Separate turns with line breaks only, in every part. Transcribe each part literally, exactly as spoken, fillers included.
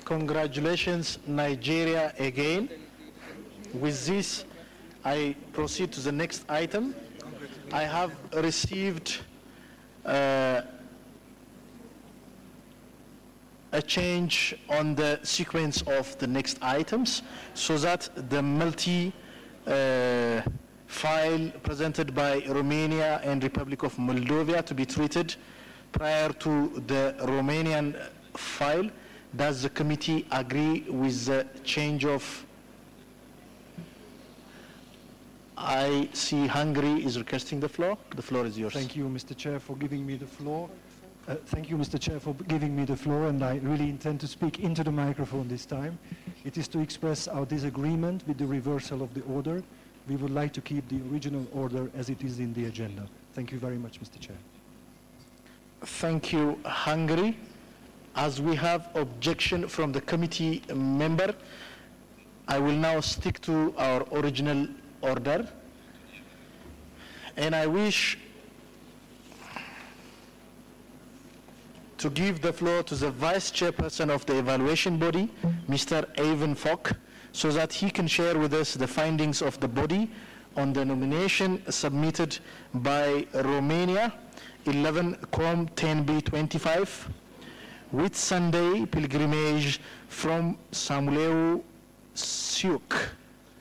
Congratulations, Nigeria, again. With this, I proceed to the next item. I have received uh, a change on the sequence of the next items so that the multi uh, file presented by Romania and Republic of Moldova to be treated prior to the Romanian file. Does the committee agree with the change of? I see Hungary is requesting the floor. The floor is yours.
Thank you, Mister Chair, for giving me the floor. Uh, thank you, Mister Chair, for giving me the floor, and I really intend to speak into the microphone this time. It is to express our disagreement with the reversal of the order. We would like to keep the original order as it is in the agenda. Thank you very much, Mister Chair.
Thank you, Hungary. As we have objection from the committee member, I will now stick to our original order. And I wish to give the floor to the Vice Chairperson of the evaluation body, Mister Ivan Fock, so that he can share with us the findings of the body on the nomination submitted by Romania, eleven COM ten B twenty-five, with Sunday pilgrimage from Samuleu Siuk.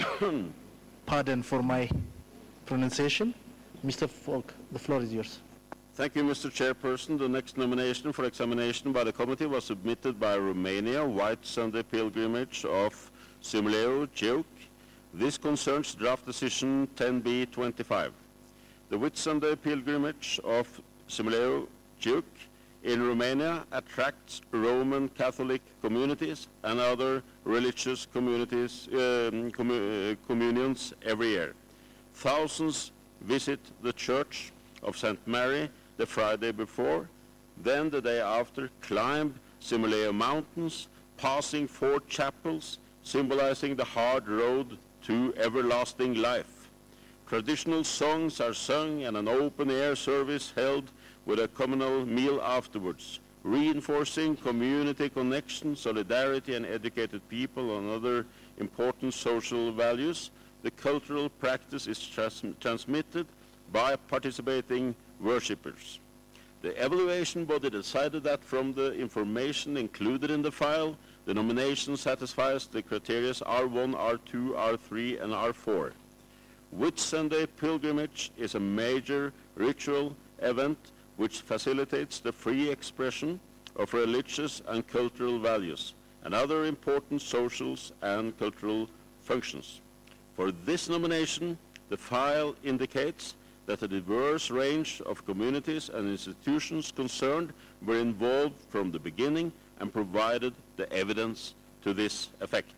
Pardon for my pronunciation. Mister Fock, the floor is yours.
Thank you, Mister Chairperson. The next nomination for examination by the committee was submitted by Romania, White Sunday Pilgrimage of Simleu Ciuc. This concerns draft decision ten B twenty-five. The Whit Sunday Pilgrimage of Simleu Ciuc in Romania attracts Roman Catholic communities and other religious communities, um, commu uh, communions every year. Thousands visit the Church of Saint Mary the Friday before, then the day after climb Simuleo Mountains, passing four chapels, symbolizing the hard road to everlasting life. Traditional songs are sung and an open-air service held with a communal meal afterwards, reinforcing community connection, solidarity, and educated people on other important social values. The cultural practice is trans transmitted by participating worshippers. The evaluation body decided that from the information included in the file, the nomination satisfies the criteria R one, R two, R three, and R four. Whit Sunday pilgrimage is a major ritual event which facilitates the free expression of religious and cultural values and other important social and cultural functions. For this nomination, the file indicates that a diverse range of communities and institutions concerned were involved from the beginning and provided the evidence to this effect.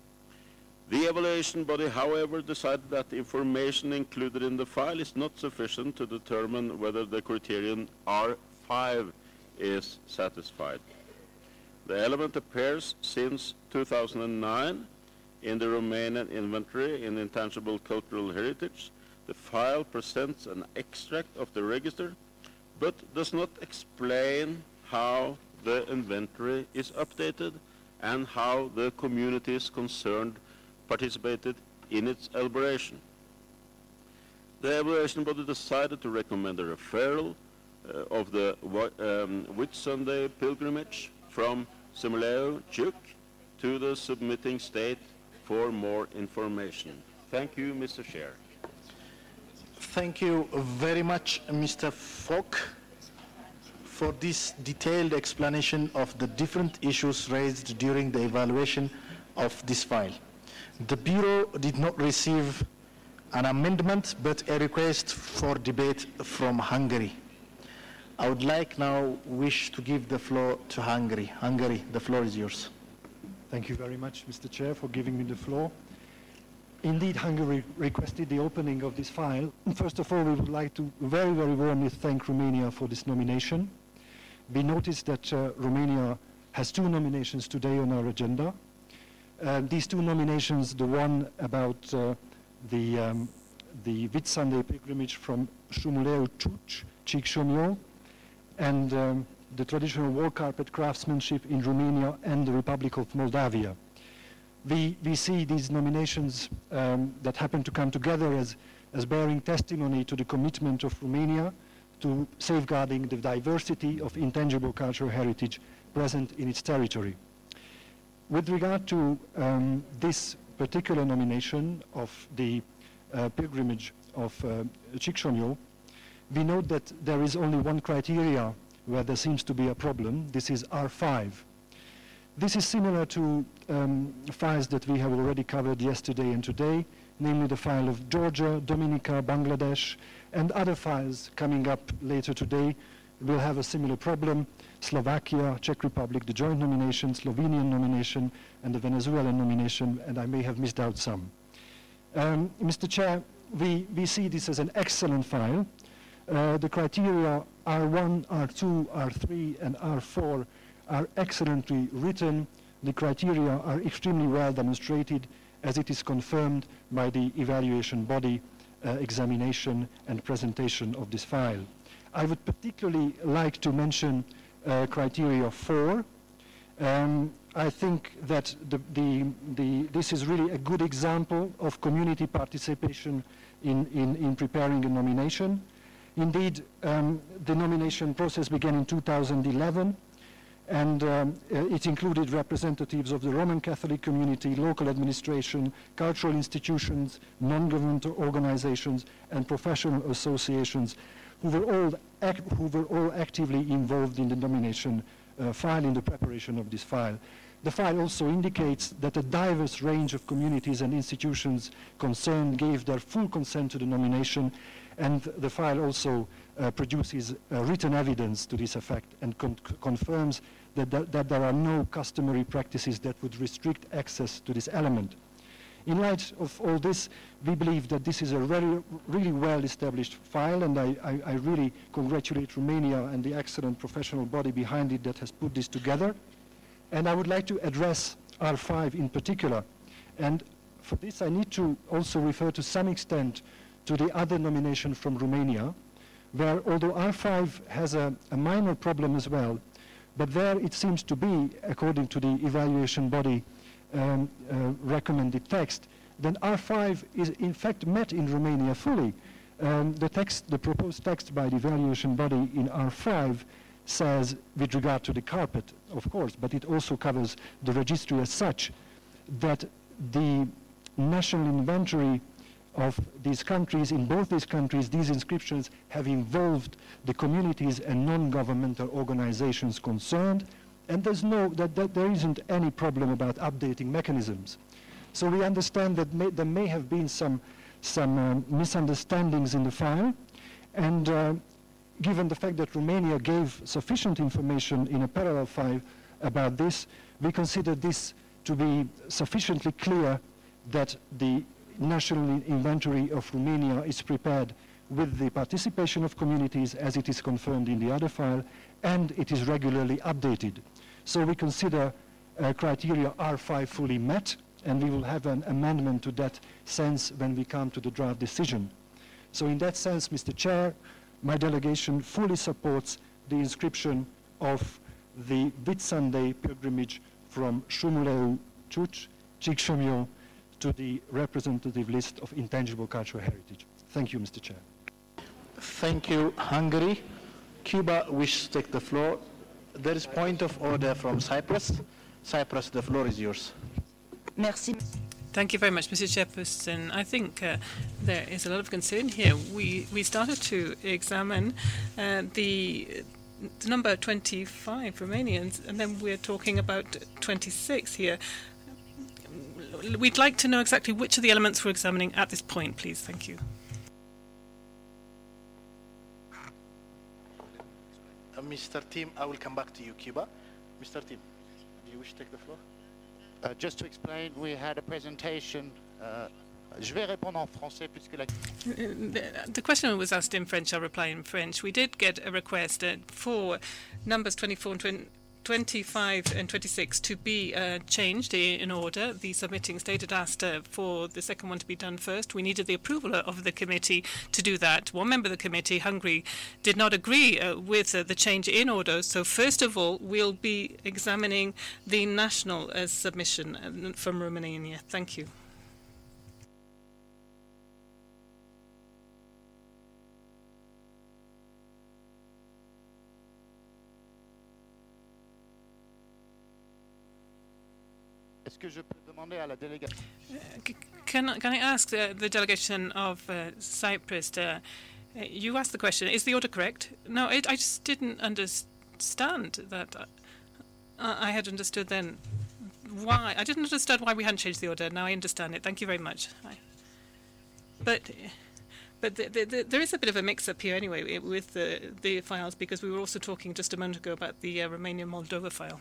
The evaluation body, however, decided that the information included in the file is not sufficient to determine whether the criterion R five is satisfied. The element appears since two thousand nine in the Romanian inventory in intangible cultural heritage. The file presents an extract of the register, but does not explain how the inventory is updated and how the communities concerned participated in its elaboration. The evaluation body decided to recommend a referral uh, of the um, Whit Sunday pilgrimage from Simuleu Ciuc to the submitting state for more information. Thank you, Mister Chair.
Thank you very much, Mister Fock, for this detailed explanation of the different issues raised during the evaluation of this file. The Bureau did not receive an amendment, but a request for debate from Hungary. I would like now wish to give the floor to Hungary. Hungary, the floor is yours.
Thank you very much, Mister Chair, for giving me the floor. Indeed, Hungary requested the opening of this file. First of all, we would like to very, very warmly thank Romania for this nomination. We noticed that uh, Romania has two nominations today on our agenda. Uh, these two nominations, the one about uh, the, um, the Whit Sunday pilgrimage from Shumuleu Ciuc, Ciuc, and um, the traditional wall carpet craftsmanship in Romania and the Republic of Moldavia. We, we see these nominations um, that happen to come together as, as bearing testimony to the commitment of Romania to safeguarding the diversity of intangible cultural heritage present in its territory. With regard to um, this particular nomination of the uh, pilgrimage of uh, Csíksomlyó, we note that there is only one criteria where there seems to be a problem. This is R five. This is similar to um, files that we have already covered yesterday and today, namely the file of Georgia, Dominica, Bangladesh, and other files coming up later today will have a similar problem. Slovakia, Czech Republic, the joint nomination, Slovenian nomination, and the Venezuelan nomination, and I may have missed out some. Um, Mister Chair, we, we see this as an excellent file. Uh, the criteria R one, R two, R three, and R four are excellently written. The criteria are extremely well demonstrated as it is confirmed by the evaluation body uh, examination and presentation of this file. I would particularly like to mention uh, criteria four. Um, I think that the, the, the, this is really a good example of community participation in, in, in preparing a nomination. Indeed, um, the nomination process began in two thousand eleven, and um, uh, it included representatives of the Roman Catholic community, local administration, cultural institutions, non-governmental organizations, and professional associations who were all, act who were all actively involved in the nomination uh, file, in the preparation of this file. The file also indicates that a diverse range of communities and institutions concerned gave their full consent to the nomination, and the file also uh, produces uh, written evidence to this effect and con confirms that, that, that there are no customary practices that would restrict access to this element. In light of all this, we believe that this is a really, really well-established file, and I, I, I really congratulate Romania and the excellent professional body behind it that has put this together. And I would like to address R five in particular. And for this, I need to also refer to some extent to the other nomination from Romania, where although R five has a, a minor problem as well, but there it seems to be, according to the evaluation body um, uh, recommended text, then R five is in fact met in Romania fully. Um, the text, the proposed text by the evaluation body in R five says, with regard to the carpet, of course, but it also covers the registry as such, that the national inventory of these countries, in both these countries, these inscriptions have involved the communities and non-governmental organizations concerned, and there's no, that, that there isn't any problem about updating mechanisms. So we understand that may, there may have been some, some um, misunderstandings in the file, and uh, given the fact that Romania gave sufficient information in a parallel file about this, we consider this to be sufficiently clear that the national inventory of Romania is prepared with the participation of communities as it is confirmed in the other file, and it is regularly updated. So we consider uh, criteria R five fully met, and we will have an amendment to that sense when we come to the draft decision. So in that sense, Mister Chair, my delegation fully supports the inscription of the Whitsunday pilgrimage from Șumuleu Ciuc, Csíksomlyó, to the representative list of intangible cultural heritage. Thank you, Mister Chair.
Thank you, Hungary. Cuba wishes to take the floor. There is point of order from Cyprus. Cyprus, the floor is yours.
Merci.
Thank you very much, Mister Chairperson. I think uh, there is a lot of concern here. We we started to examine uh, the, the number twenty-five Romanians, and then we're talking about twenty-six here. We'd like to know exactly which of the elements we're examining at this point, please. Thank you.
Uh, Mister Tim, I will come back to you, Cuba. Mister Tim, do you wish to take the floor?
Uh, just to explain, we had a presentation. Uh, je vais répondre en français puisque la...
The, the question was asked in French. I'll reply in French. We did get a request uh, for numbers twenty-four and twenty-five and twenty-six to be uh, changed in order. The submitting state had asked uh, for the second one to be done first. We needed the approval of the committee to do that. One member of the committee, Hungary, did not agree uh, with uh, the change in order. So first of all, we'll be examining the national uh, submission uh, from Romania. Thank you.
Est-ce que je peux demander à la délégation?
Uh, can, I- can I ask uh, the delegation of uh, Cyprus, uh, uh, you asked the question, is the order correct? No, it, I just didn't understand that. Uh, I had understood then why. I didn't understand why we hadn't changed the order. Now I understand it. Thank you very much. I, but but the, the, the, there is a bit of a mix-up here anyway with the, the files, because we were also talking just a moment ago about the uh, Romania-Moldova file.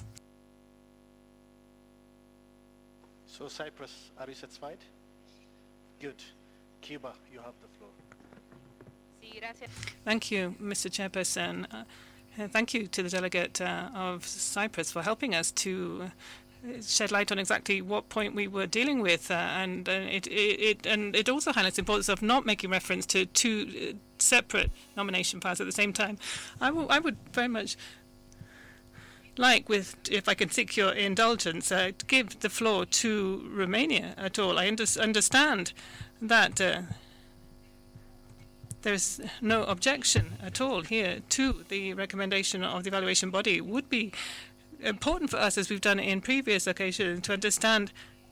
So Cyprus, are you satisfied? Good. Cuba, you have the floor.
Thank you, Mister Chairperson. Uh, uh, thank you to the delegate uh, of Cyprus for helping us to uh, shed light on exactly what point we were dealing with, uh, and uh, it, it, it and it also highlights the importance of not making reference to two uh, separate nomination files at the same time. I, I would very much like, with, if I can seek your indulgence, uh, to give the floor to Romania at all. I under understand that uh, there's no objection at all here to the recommendation of the evaluation body. It would be important for us, as we've done in previous occasions, to understand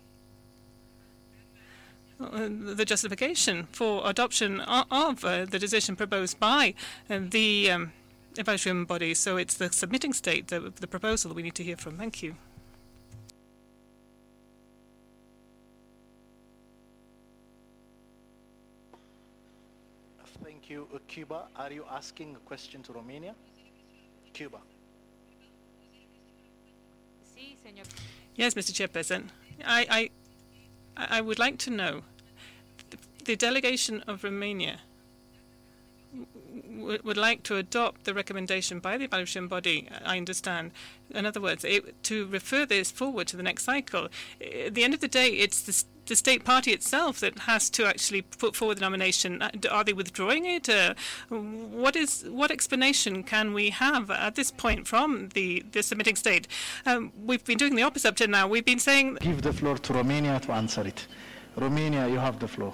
uh, the justification for adoption of, of uh, the decision proposed by uh, the um, evaluation body. So it's the submitting state, the, the proposal that we need to hear from. Thank you.
Thank you. Uh, Cuba, are you asking a question to Romania? Cuba.
Yes, Mister Chairperson. I, I, I would like to know, the delegation of Romania would like to adopt the recommendation by the evaluation body, I understand. In other words, it, to refer this forward to the next cycle. At the end of the day, it's the, the state party itself that has to actually put forward the nomination. Are they withdrawing it? Uh, what is what explanation can we have at this point from the, the submitting state? Um, we've been doing the opposite up to now. We've been saying...
Give the floor to Romania to answer it. Romania, you have the floor.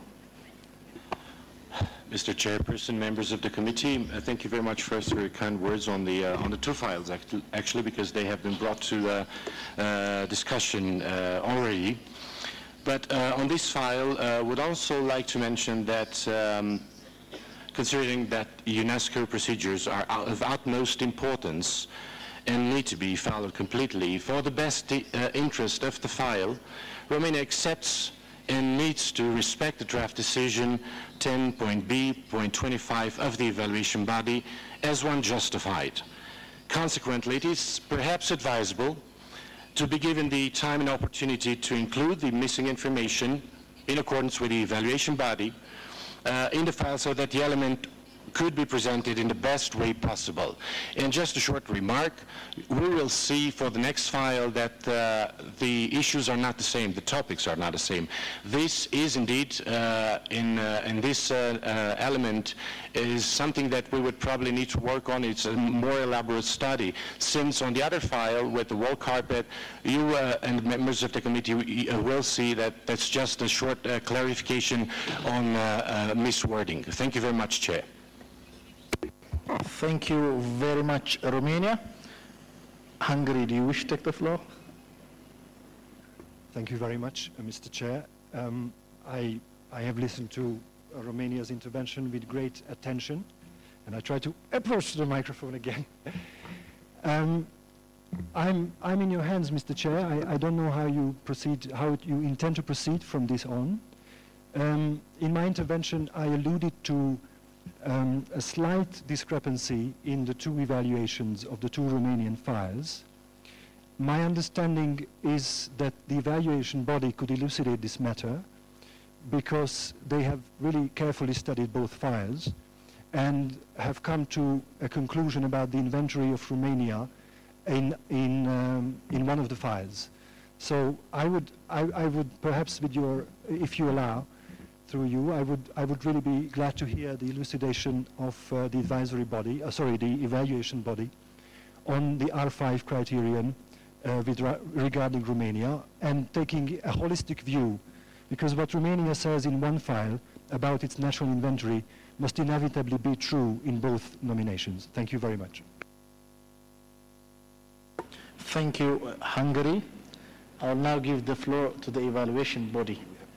Mister Chairperson, members of the committee, uh, thank you very much first for your kind words on the uh, on the two files, actually, actually, because they have been brought to uh, uh, discussion uh, already. But uh, on this file, I uh, would also like to mention that, um, considering that UNESCO procedures are of utmost importance and need to be followed completely, for the best uh, interest of the file, Romania accepts and needs to respect the draft decision ten point B point twenty-five of the evaluation body as one justified. Consequently, it is perhaps advisable to be given the time and opportunity to include the missing information in accordance with the evaluation body uh, in the file so that the element could be presented in the best way possible. And just a short remark, we will see for the next file that uh, the issues are not the same, the topics are not the same. This is indeed, uh, in, uh, in this uh, uh, element, is something that we would probably need to work on. It's a more elaborate study, since on the other file with the wall carpet, you uh, and members of the committee uh, will see that that's just a short uh, clarification on uh, uh, miswording. Thank you very much, Chair.
Thank you very much, Romania. Hungary, do you wish to take the floor?
Thank you very much, uh, Mister Chair. Um, I, I have listened to uh, Romania's intervention with great attention, and I try to approach the microphone again. um, I'm, I'm in your hands, Mister Chair. I, I don't know how you proceed, how you intend to proceed from this on. Um, in my intervention, I alluded to Um, a slight discrepancy in the two evaluations of the two Romanian files. My understanding is that the evaluation body could elucidate this matter because they have really carefully studied both files and have come to a conclusion about the inventory of Romania in, in, um, in one of the files. So I would, I, I would perhaps, with your, if you allow, through you, I would, I would really be glad to hear the elucidation of uh, the advisory body, uh, sorry, the evaluation body, on the R five criterion uh, with ra regarding Romania, and taking a holistic view, because what Romania says in one file about its national inventory must inevitably be true in both nominations. Thank you very much.
Thank you, uh, Hungary. I'll now give the floor to the evaluation body.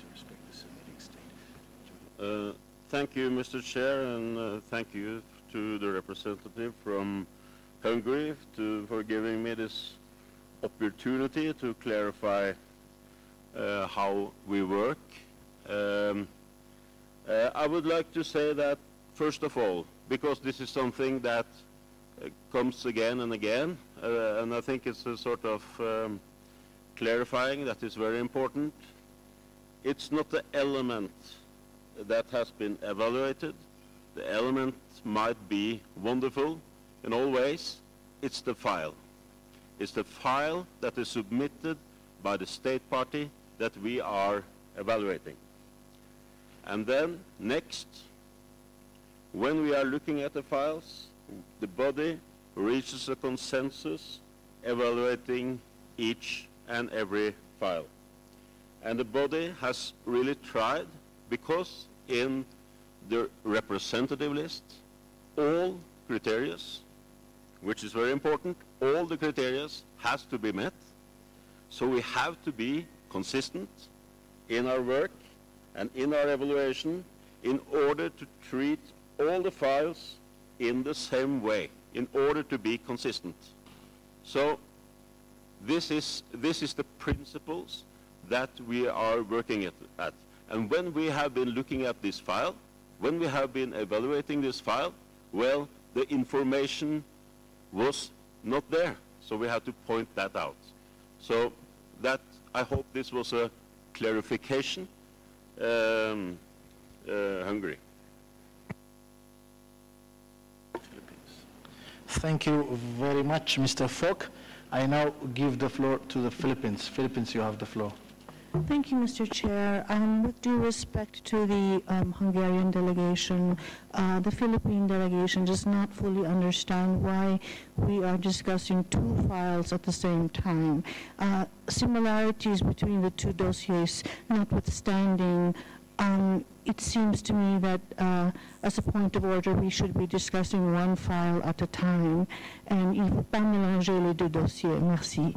Uh, thank you, Mister Chair, and uh, thank you to the representative from Hungary to, for giving me this opportunity to clarify uh, how we work. Um, uh, I would like to say that, first of all, because this is something that uh, comes again and again, uh, and I think it's a sort of um, clarifying that is very important. It's not the element that has been evaluated. The element might be wonderful in all ways. It's the file. It's the file that is submitted by the state party that we are evaluating. And then next, when we are looking at the files, the body reaches a consensus evaluating each and every file. And the body has really tried, because in the representative list, all criteria, which is very important, all the criteria has to be met. So we have to be consistent in our work and in our evaluation in order to treat all the files in the same way, in order to be consistent. So this is, this is the principles that we are working at, at. And when we have been looking at this file, when we have been evaluating this file, well, the information was not there. So we have to point that out. So that, I hope this was a clarification. Um, uh, Hungary.
Thank you very much, Mister Falk. I now give the floor to the Philippines. Philippines, you have the floor.
Thank you, Mister Chair. Um, with due respect to the um, Hungarian delegation, uh, the Philippine delegation does not fully understand why we are discussing two files at the same time. Uh, similarities between the two dossiers notwithstanding, um, it seems to me that uh, as a point of order, we should be discussing one file at a time. And il ne faut pas mélanger les deux dossiers. Merci.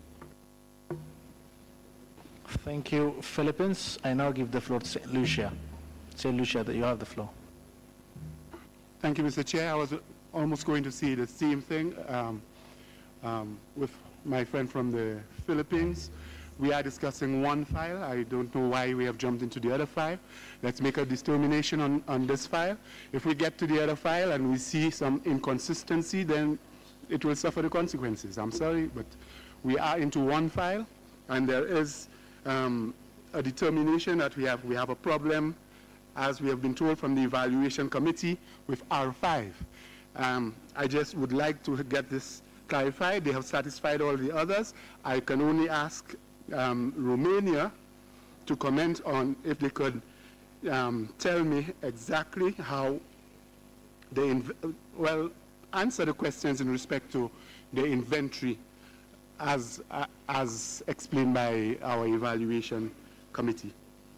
Thank you, Philippines. I now give the floor to Saint Lucia. Saint Lucia, you have the floor.
Thank you, Mister Chair. I was almost going to say the same thing um, um, with my friend from the Philippines. We are discussing one file. I don't know why we have jumped into the other file. Let's make a determination on, on this file. If we get to the other file and we see some inconsistency, then it will suffer the consequences. I'm sorry, but we are into one file, and there is Um, a determination that we have, we have a problem, as we have been told from the evaluation committee, with R five. Um, I just would like to get this clarified. They have satisfied all the others. I can only ask um, Romania to comment on if they could um, tell me exactly how they, well, answer the questions in respect to the inventory as, uh, as explained by our evaluation committee.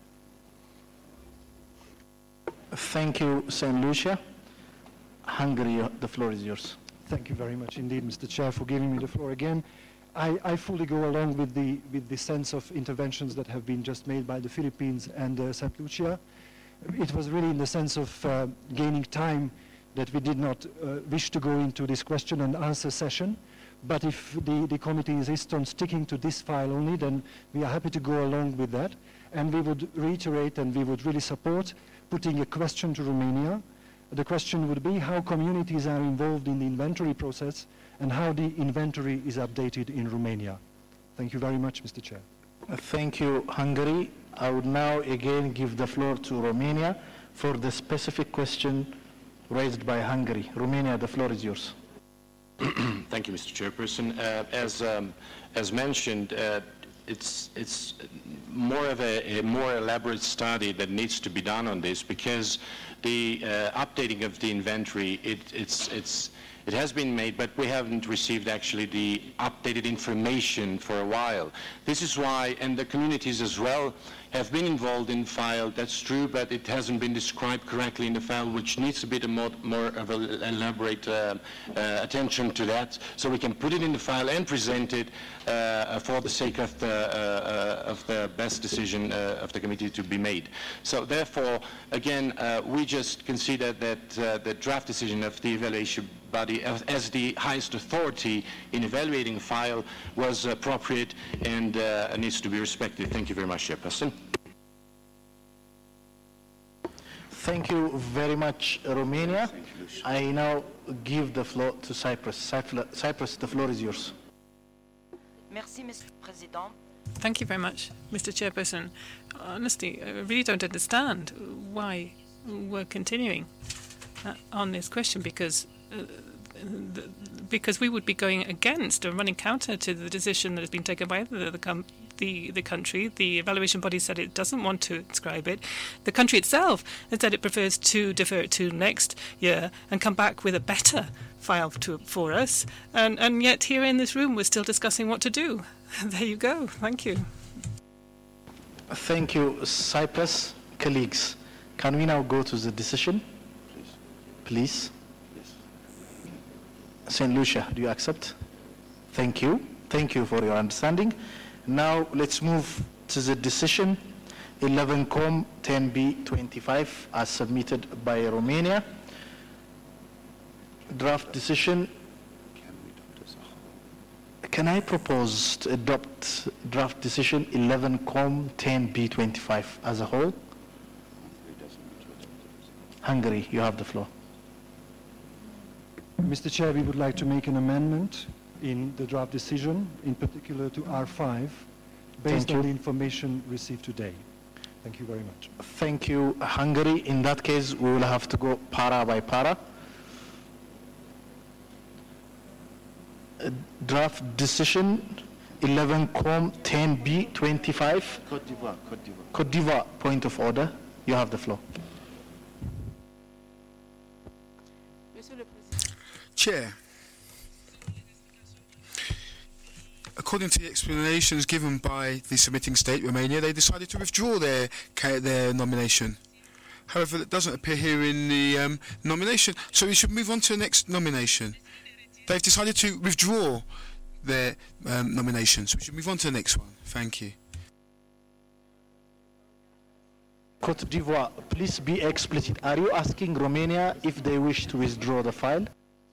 Thank you, Saint Lucia. Hungary, the floor is yours.
Thank you very much indeed, Mister Chair, for giving me the floor again. I, I fully go along with the, with the sense of interventions that have been just made by the Philippines and uh, Saint Lucia. It was really in the sense of uh, gaining time that we did not uh, wish to go into this question and answer session. But if the, the committee insists on sticking to this file only, then we are happy to go along with that. And we would reiterate and we would really support putting a question to Romania. The question would be how communities are involved in the inventory process and how the inventory is updated in Romania. Thank you very much, Mister Chair.
Thank you, Hungary. I would now again give the floor to Romania for the specific question raised by Hungary. Romania, the floor is yours.
Thank you, Mister Chairperson. Uh, as um, as mentioned, uh, it's it's more of a, a more elaborate study that needs to be done on this, because the uh, updating of the inventory, it, it's it's it has been made, but we haven't received actually the updated information for a while. This is why, and the communities as well have been involved in the file, that's true, but it hasn't been described correctly in the file, which needs a bit more, more of an elaborate uh, uh, attention to that, so we can put it in the file and present it uh, for the sake of the, uh, uh, of the best decision uh, of the committee to be made. So therefore, again, uh, we just consider that uh, the draft decision of the evaluation body as, as the highest authority in evaluating a file was appropriate and uh, needs to be respected. Thank you very much, Chairperson.
Thank you very much, Romania. I now give the floor to Cyprus. Cyprus, the floor is yours.
Merci, Mister President.
Thank you very much, Mister Chairperson. Honestly, I really don't understand why we're continuing uh, on this question, because uh, the, because we would be going against or running counter to the decision that has been taken by the, the, com the, the country. The evaluation body said it doesn't want to inscribe it. The country itself has said it prefers to defer it to next year and come back with a better file to, for us. And, and yet here in this room we're still discussing what to do. There you go. Thank you.
Thank you, Cyprus. Colleagues, can we now go to the decision? Please. Saint Lucia, do you accept? Thank you. Thank you for your understanding. Now let's move to the decision eleven com ten B twenty-five as submitted by Romania. Draft decision. Can I propose to adopt draft decision eleven com ten B twenty-five as a whole? Hungary, you have the floor.
Mister Chair, we would like to make an amendment in the draft decision, in particular to R five, based on the information received today. Thank you very much.
Thank you, Hungary. In that case, we will have to go para by para. Uh, draft decision eleven com ten B twenty-five.
Côte d'Ivoire, Côte d'Ivoire.
Côte d'Ivoire, point of order. You have the floor.
Chair, according to the explanations given by the submitting state, Romania, they decided to withdraw their their nomination. However, it doesn't appear here in the um, nomination, so we should move on to the next nomination. They've decided to withdraw their um, nomination, so we should move on to the next one. Thank you.
Côte d'Ivoire, please be explicit. Are you asking Romania if they wish to withdraw the file?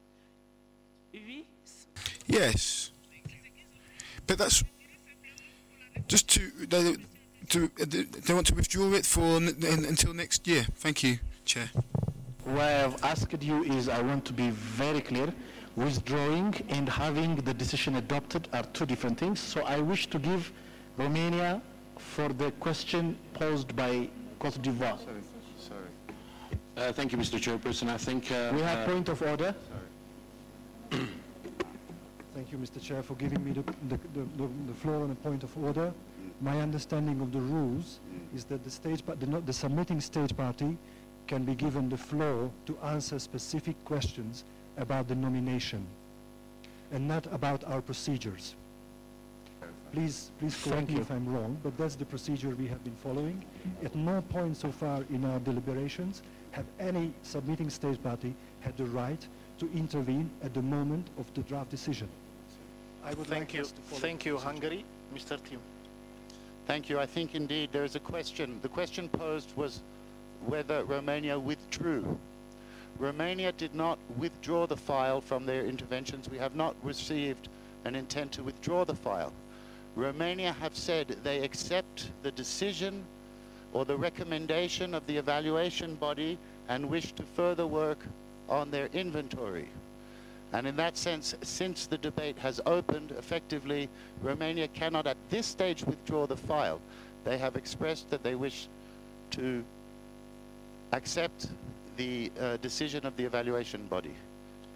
Yes, but that's just to they to they want to withdraw it for n n until next year. Thank you, Chair.
What I've asked you is, I want to be very clear. Withdrawing and having the decision adopted are two different things. So I wish to give Romania for the question posed by Côte d'Ivoire.
Sorry, sorry. Uh, thank you, Mister Chairperson. I think uh,
we have
uh,
point of order.
Sorry. Thank you, Mister Chair, for giving me the, the, the, the floor on a point of order. My understanding of the rules is that the, state the, the submitting state party can be given the floor to answer specific questions about the nomination and not about our procedures. Please, please correct me if I'm wrong, but that's the procedure we have been following. At no point so far in our deliberations have any submitting state party had the right to intervene at the moment of the draft decision. I would
Thank
like
you.
us to follow
Thank you, Hungary. Mister Tim. Thank you. I think indeed there is a question. The question posed was whether Romania withdrew. Romania did not withdraw the file from their interventions. We have not received an intent to withdraw the file. Romania have said they accept the decision or the recommendation of the evaluation body and wish to further work on their inventory. And in that sense, since the debate has opened, effectively, Romania cannot at this stage withdraw the file. They have expressed that they wish to accept the uh, decision of the evaluation body.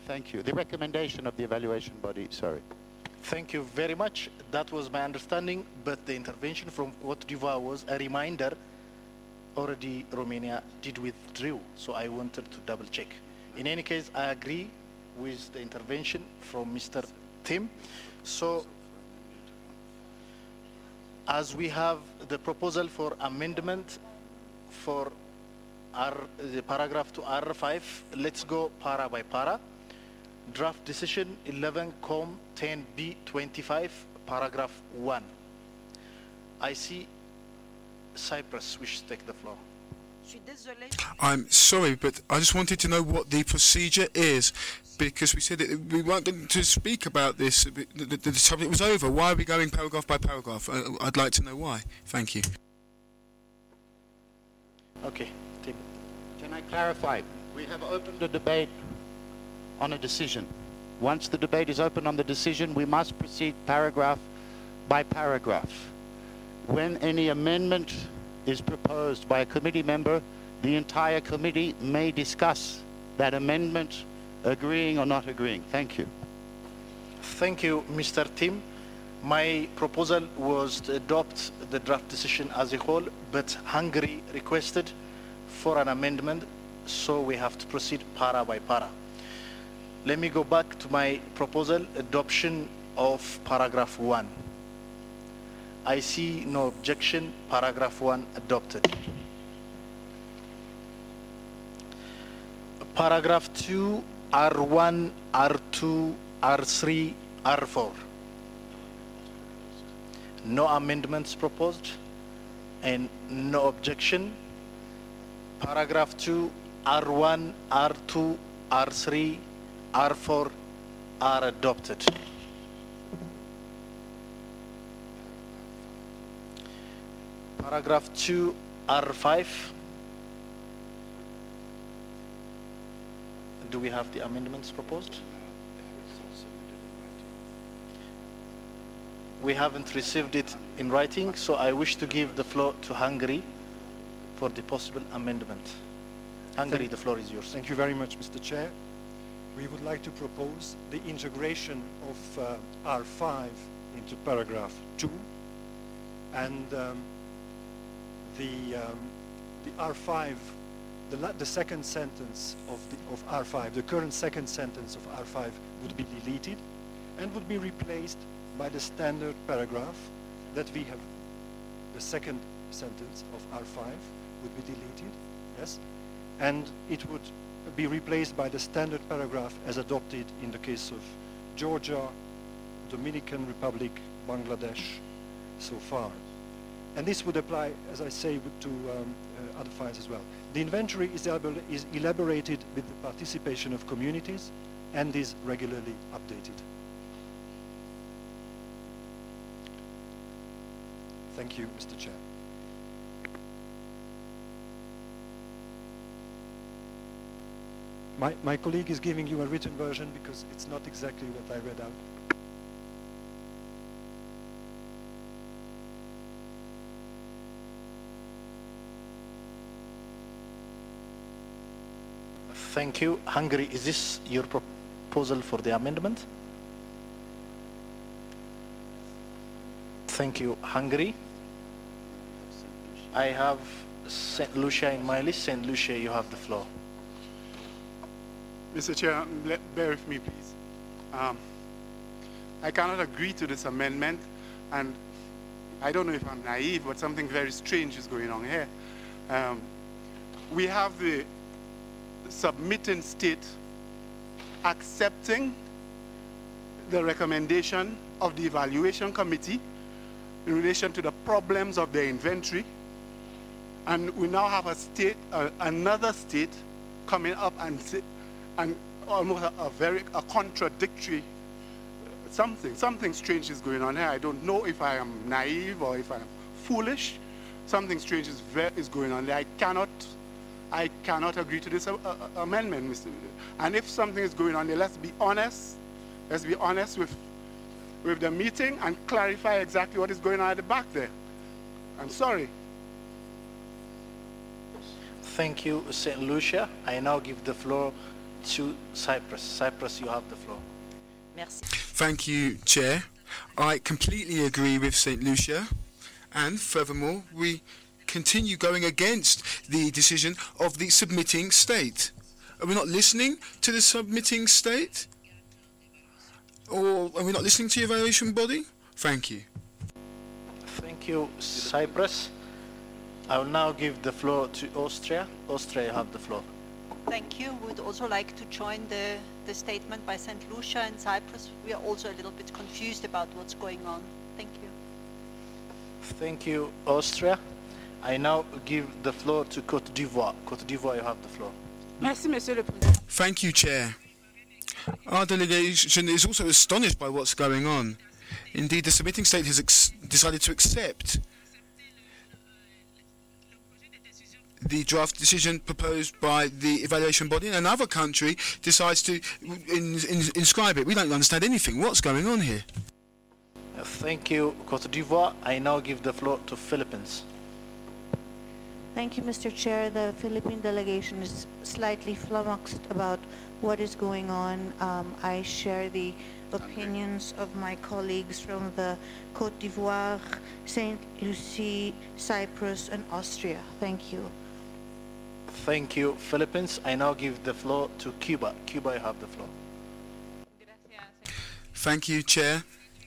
Thank you. The recommendation of the evaluation body, sorry.
Thank you very much. That was my understanding, but the intervention from Cote d'Ivoire was a reminder. Already Romania did withdraw, so I wanted to double check. In any case, I agree with the intervention from Mister Tim. So, as we have the proposal for amendment for R, the paragraph to R five, let's go para by para. Draft decision eleven com ten B twenty-five, paragraph one. I see Cyprus wishes to take the floor.
I'm sorry, but I just wanted to know what the procedure is, because we said that we weren't going to speak about this. The, the, the subject was over. Why are we going paragraph by paragraph? I, I'd like to know why. Thank you.
Okay. Tim.
Can I clarify? We have opened a debate on a decision. Once the debate is open on the decision, we must proceed paragraph by paragraph. When any amendment is proposed by a committee member, the entire committee may discuss that amendment, agreeing or not agreeing. Thank you.
Thank you, Mister Tim. My proposal was to adopt the draft decision as a whole, but Hungary requested for an amendment, so we have to proceed para by para. Let me go back to my proposal, adoption of paragraph one. I see no objection, paragraph one adopted. Paragraph two, R one, R two, R three, R four. No amendments proposed and no objection. Paragraph two, R one, R two, R three, R four are adopted. Paragraph two, R five. Do we have the amendments proposed? We haven't received it in writing, so I wish to give the floor to Hungary for the possible amendment. Hungary,
Thank,
the floor is yours.
Thank you very much, Mister Chair. We would like to propose the integration of uh, R five into paragraph two, and um, the, um, the R five, the, la the second sentence of, the, of R five, the current second sentence of R five would be deleted and would be replaced by the standard paragraph that we have. The second sentence of R five would be deleted, yes, and it would be replaced by the standard paragraph as adopted in the case of Georgia, Dominican Republic, Bangladesh so far. And this would apply, as I say, to um, uh, other files as well. The inventory is, elab is elaborated with the participation of communities and is regularly updated. Thank you, Mister Chair. My, my colleague is giving you a written version because it's not exactly what I read out.
Thank you. Hungary, is this your proposal for the amendment? Thank you, Hungary. I have Saint Lucia in my list. Saint Lucia, you have the floor.
Mister Chair, let, bear with me, please. Um, I cannot agree to this amendment, and I don't know if I'm naive, but something very strange is going on here. Um, we have the submitting state accepting the recommendation of the evaluation committee in relation to the problems of the inventory, and we now have a state, uh, another state coming up and say, and almost a, a very a contradictory something. Something strange is going on here. I don't know if I am naive or if I am foolish. Something strange is, very, is going on there. I cannot, I cannot agree to this uh, uh, amendment, Mister And if something is going on there, let's be honest. Let's be honest with, with the meeting and clarify exactly what is going on at the back there. I'm sorry.
Thank you, Saint Lucia. I now give the floor to Cyprus. Cyprus, you have the floor.
Merci.
Thank you, Chair. I completely agree with Saint Lucia, and furthermore, we continue going against the decision of the submitting state. Are we not listening to the submitting state? Or are we not listening to the evaluation body? Thank you.
Thank you, Cyprus. I will now give the floor to Austria. Austria, you have the floor.
Thank you. Would also like to join the, the statement by Saint Lucia and Cyprus. We are also a little bit confused about what's going on. Thank you.
Thank you, Austria. I now give the floor to Côte d'Ivoire. Côte d'Ivoire, you have the floor.
Merci, Monsieur le Président.
Thank you, Chair. Our delegation is also astonished by what's going on. Indeed, the submitting state has ex decided to accept the draft decision proposed by the evaluation body, and another country decides to in, in, inscribe it. We don't understand anything. What's going on here?
Thank you, Côte d'Ivoire. I now give the floor to Philippines.
Thank you, Mister Chair. The Philippine delegation is slightly flummoxed about what is going on. Um, I share the opinions of my colleagues from the Côte d'Ivoire, Saint Lucie, Cyprus, and Austria. Thank you.
Thank you, Philippines. I now give the floor to Cuba. Cuba, you have the floor.
Thank you, Chair.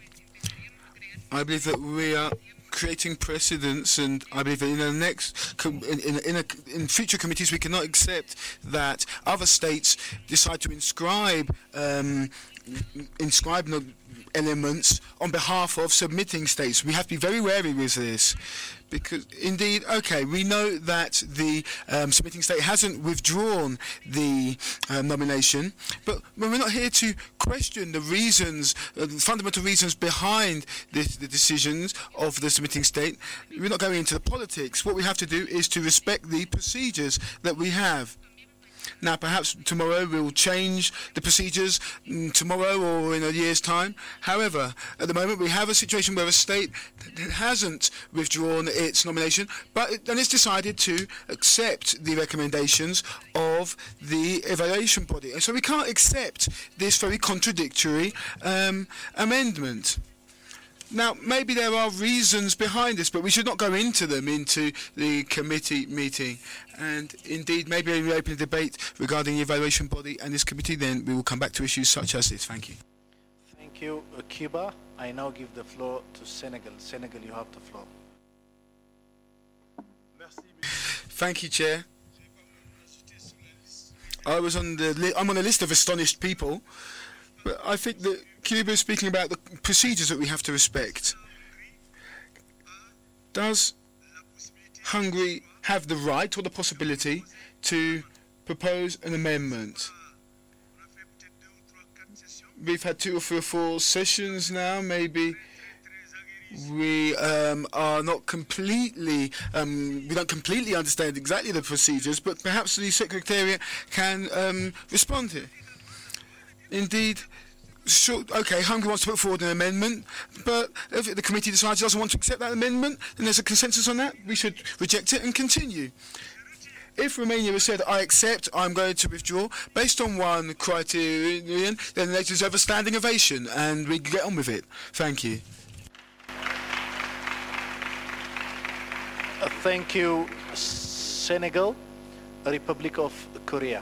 I believe that we are creating precedents, and I believe that in the next, in in, in, a, in future committees, we cannot accept that other states decide to inscribe um, inscribe no elements on behalf of submitting states. We have to be very wary with this, because indeed, okay, we know that the um, submitting state hasn't withdrawn the uh, nomination, but we're not here to question the reasons, uh, the fundamental reasons behind this, the decisions of the submitting state. We're not going into the politics. What we have to do is to respect the procedures that we have. Now, perhaps tomorrow we'll change the procedures, mm, tomorrow or in a year's time. However, at the moment we have a situation where a state hasn't withdrawn its nomination, but it, and it's decided to accept the recommendations of the evaluation body. And so we can't accept this very contradictory um, amendment. Now, maybe there are reasons behind this, but we should not go into them into the committee meeting. And indeed, maybe we open a debate regarding the evaluation body and this committee, then we will come back to issues such as this. Thank you.
Thank you, uh, Cuba. I now give the floor to Senegal. Senegal, you have the floor.
Thank you, Chair. I was on the li I'm on a list of astonished people, but I think that Cuba is speaking about the procedures that we have to respect. Does Hungary have the right or the possibility to propose an amendment? We've had two or three or four sessions now. Maybe we um, are not completely, um, we don't completely understand exactly the procedures, but perhaps the Secretariat can um, respond here. Indeed, sure, okay, Hungary wants to put forward an amendment, but if the committee decides it doesn't want to accept that amendment, then there's a consensus on that. We should reject it and continue. If Romania has said, I accept, I'm going to withdraw, based on one criterion, then they deserve a standing ovation, and we can get on with it. Thank you.
Uh, thank you, Senegal, Republic of Korea.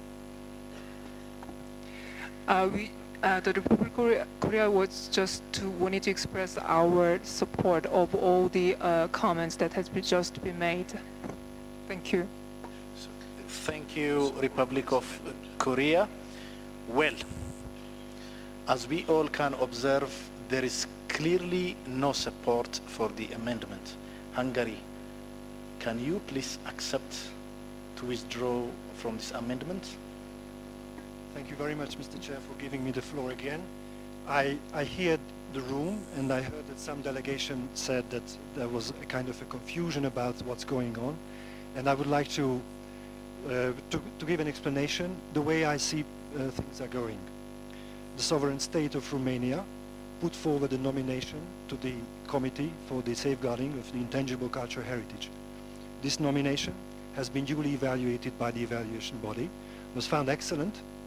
Uh, we, uh, the Republic of Korea, Korea was just to wanted to express our support of all the uh, comments that has been just been made. Thank you.
Thank you, Republic of Korea. Well, as we all can observe, there is clearly no support for the amendment. Hungary, can you please accept to withdraw from this amendment?
Thank you very much, Mister Chair, for giving me the floor again. I, I heard the room, and I heard that some delegation said that there was a kind of a confusion about what's going on, and I would like to, uh, to, to give an explanation the way I see uh, things are going. The sovereign state of Romania put forward a nomination to the Committee for the Safeguarding of the Intangible Cultural Heritage. This nomination has been duly evaluated by the evaluation body, was found excellent,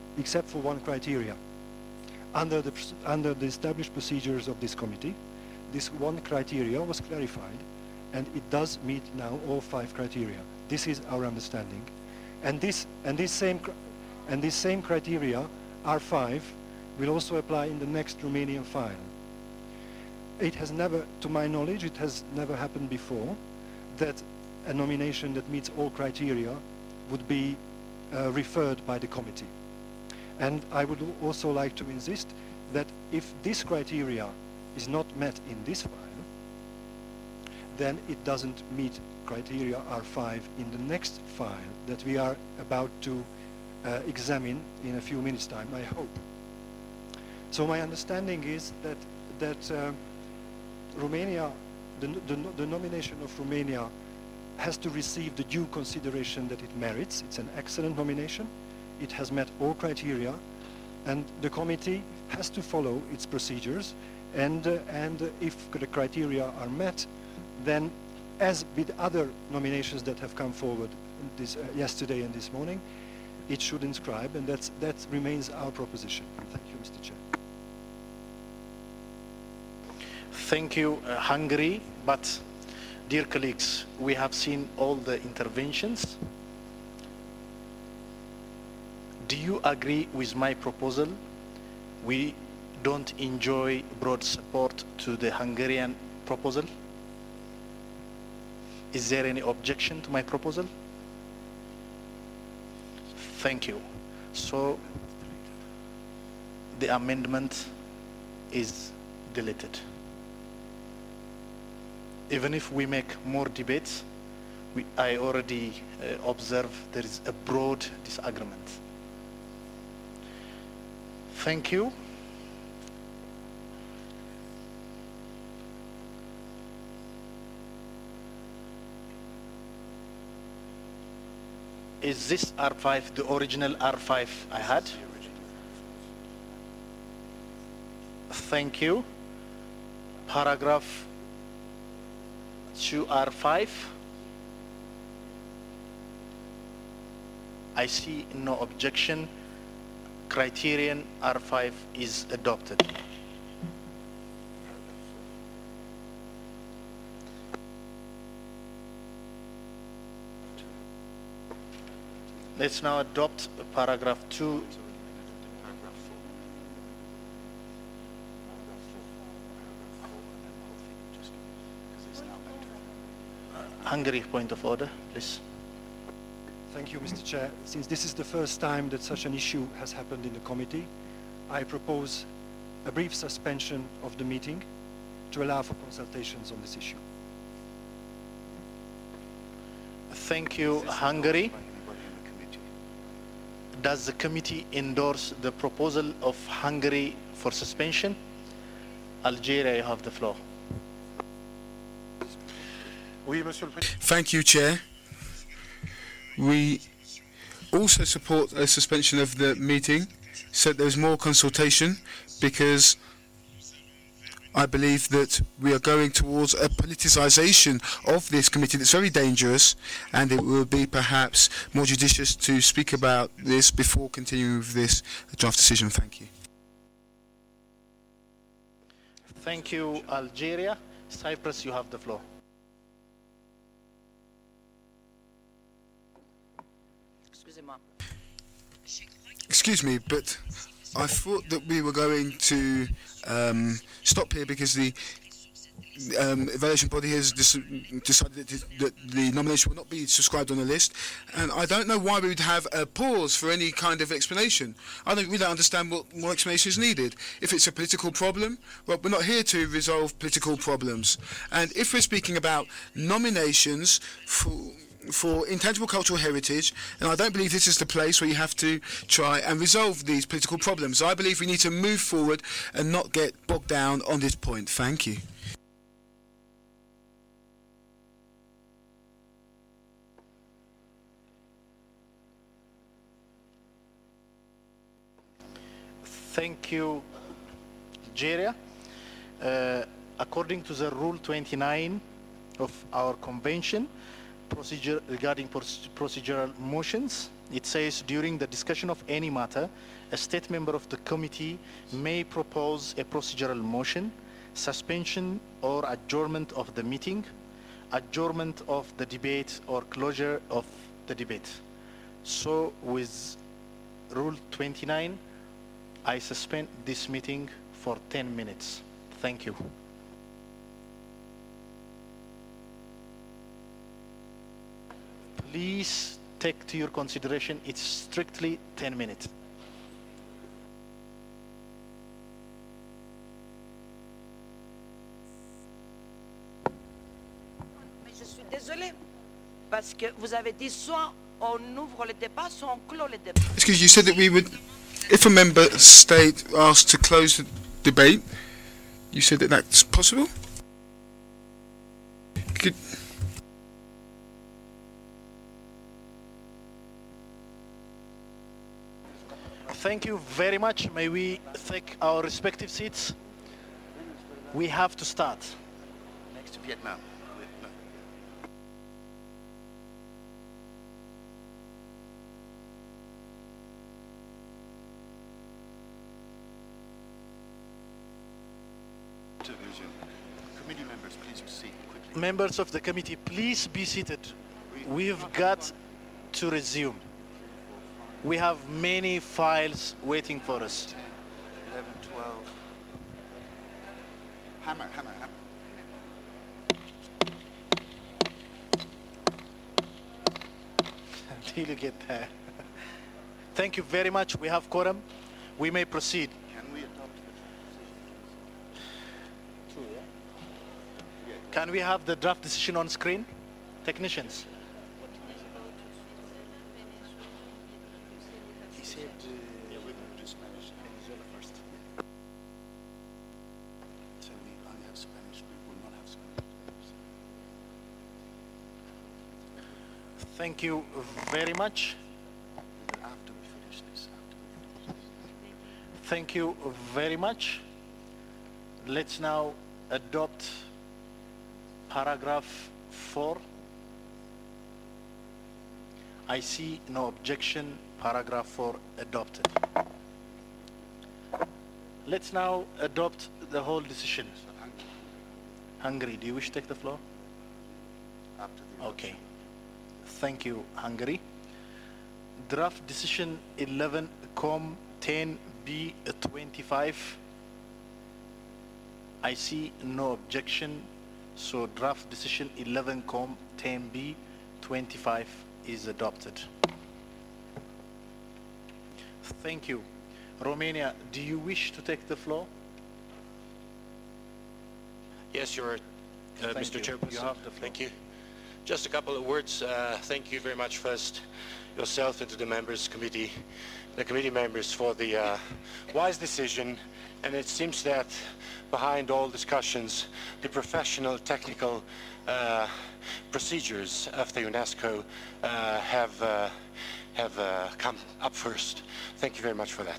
except for one criteria. Under the, under the established procedures of this committee, this one criteria was clarified, and it does meet now all five criteria. This is our understanding. And this, and this, same, and this same criteria, R five, will also apply in the next Romanian file. It has never, to my knowledge, it has never happened before that a nomination that meets all criteria would be uh, referred by the committee. And I would also like to insist that if this criteria is not met in this file, then it doesn't meet criteria R five in the next file that we are about to uh, examine in a few minutes' time, I hope. So my understanding is that, that uh, Romania, the, the, the nomination of Romania has to receive the due consideration that it merits. It's an excellent nomination. It has met all criteria, and the committee has to follow its procedures, and, uh, and uh, if the criteria are met, then as with other nominations that have come forward this, uh, yesterday and this morning, it should inscribe, and that's, that remains our proposition. Thank you, Mister Chair.
Thank you, uh, Hungary, but dear colleagues, we have seen all the interventions. Do you agree with my proposal? We don't enjoy broad support to the Hungarian proposal. Is there any objection to my proposal? Thank you. So the amendment is deleted. Even if we make more debates, we, I already uh, observe there is a broad disagreement. Thank you. Is this R five the original R five I had? Thank you. Paragraph two R five. I see no objection. Criterion R five is adopted. Let's now adopt paragraph two. Hungary, point of order, please.
Thank you, Mister Chair. Since this is the first time that such an issue has happened in the committee, I propose a brief suspension of the meeting to allow for consultations on this issue.
Thank you, Hungary. Does the committee endorse the proposal of Hungary for suspension? Algeria, you have the floor.
Thank you, Chair. We also support a suspension of the meeting, so there's more consultation, because I believe that we are going towards a politicisation of this committee that's very dangerous, and it will be perhaps more judicious to speak about this before continuing with this draft decision. Thank you.
Thank you, Algeria. Cyprus, you have the floor.
Excuse me, but I thought that we were going to um, stop here because the um, evaluation body has decided that, that the nomination will not be subscribed on the list, and I don't know why we would have a pause for any kind of explanation. I don't really understand what more explanation is needed. If it's a political problem, well, we're not here to resolve political problems. And if we're speaking about nominations for for intangible cultural heritage, and I don't believe this is the place where you have to try and resolve these political problems. I believe we need to move forward and not get bogged down on this point. Thank you.
Thank you, Algeria. Uh, according to the Rule twenty-nine of our convention, procedure regarding procedural motions, It says, during the discussion of any matter, a state member of the committee may propose a procedural motion, suspension or adjournment of the meeting, adjournment of the debate, or closure of the debate. So with Rule twenty-nine, I suspend this meeting for ten minutes. Thank you. Please take to your consideration, it's strictly ten minutes.
Mais je suis désolée, parce que vous avez dit soit on ouvre le débat, soit on clôt le débat.
Excuse you said that we would, if a member state asked to close the debate, you said that that's possible? Could,
Thank you very much. May we take our respective seats? We have to start.
Next to Vietnam. To resume. Committee members, please proceed quickly.
Members of the committee, please be seated. We've got to resume. We have many files waiting for us.
eleven, twelve. Hammer, hammer, hammer.
Until you get there. Thank you very much. We have quorum. We may proceed.
Can we adopt the
Two, yeah? Can we have the draft decision on screen? Technicians. He said, uh,
yeah, we're going to do Spanish. Venezuela first. So we only have Spanish. We will not have Spanish.
thank you very much.
After we finish this, after we finish this.
Thank you very much. Let's now adopt paragraph four. I see no objection. Paragraph four adopted. Let's now adopt the whole decision. Hungary, do you wish to take the floor?
After the
Okay. Thank you, Hungary. Draft decision eleven com ten B twenty-five. I see no objection, so draft decision eleven com ten B twenty-five is adopted. Thank you. Romania, do you wish to take the floor?
Yes, Your uh,
Thank
Mister
you.
Chairperson.
You have the floor.
Thank you. Just a couple of words. Uh, thank you very much first, yourself and to the members committee, the committee members for the uh, wise decision. And it seems that behind all discussions, the professional technical uh, procedures of the UNESCO uh, have uh, have uh, come up first. Thank you very much for that.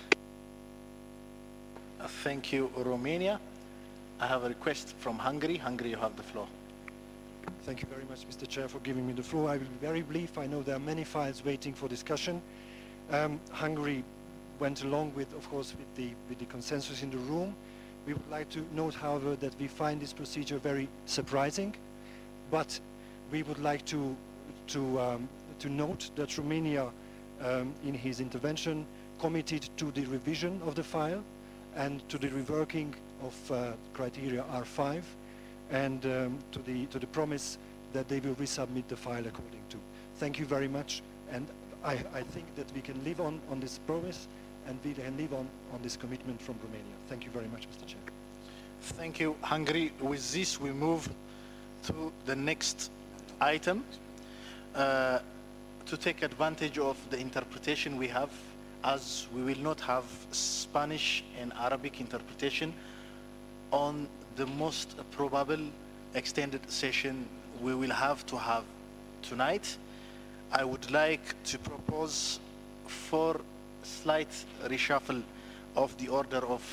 Uh, Thank you, Romania. I have a request from Hungary. Hungary, you have the floor.
Thank you very much, Mister Chair, for giving me the floor. I will be very brief. I know there are many files waiting for discussion. Um, Hungary went along with, of course, with the, with the consensus in the room. We would like to note, however, that we find this procedure very surprising, but we would like to, to, um, to note that Romania, um, in his intervention, committed to the revision of the file and to the reworking of uh, criteria R five, and um, to the to the promise that they will resubmit the file according to. Thank you very much, and I, I think that we can live on on this promise, and we can live on on this commitment from Romania. Thank you very much, Mister Chair.
Thank you, Hungary. With this, we move to the next item. Uh, to take advantage of the interpretation we have, as we will not have Spanish and Arabic interpretation on the most probable extended session we will have to have tonight, I would like to propose for slight reshuffle of the order of